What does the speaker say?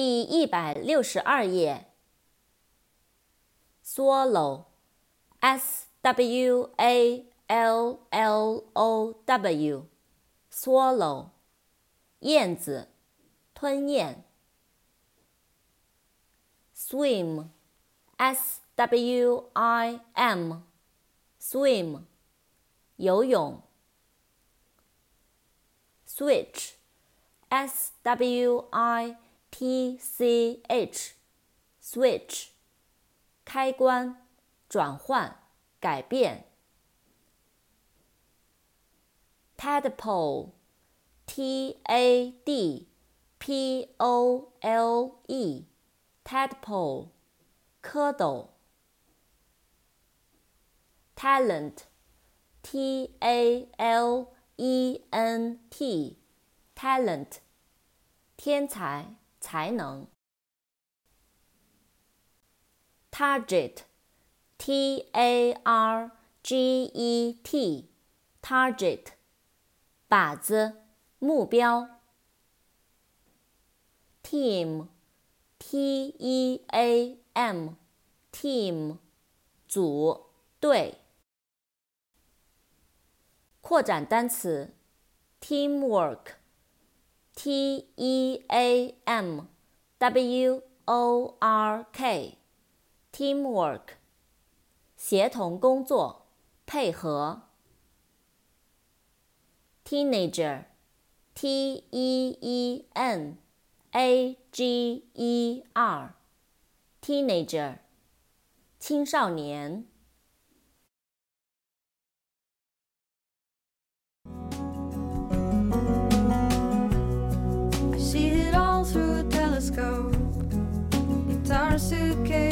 第162页。Swallow, S-W-A-L-L-O-W, swallow, 燕子，吞咽。Swim, S-W-I-M, swim, 游泳。Switch, S-W-I-T-C-H, switch, 开关，转换，改变。Tadpole, T-A-D-P-O-L-E, tadpole, 蝌蚪。Talent, T-A-L-E-N-T, talent, 天才，才能。Target, T-A-R-G-E-T, target, 靶子，目标。Team, T-E-A-M, team, 组，队。扩展单词 Teamwork, T-E-A-M-W-O-R-K, teamwork, 协同工作，配合。Teenager, T-E-E-N-A-G-E-R, teenager, 青少年。 I see it all through a telescope. Guitar, suitcase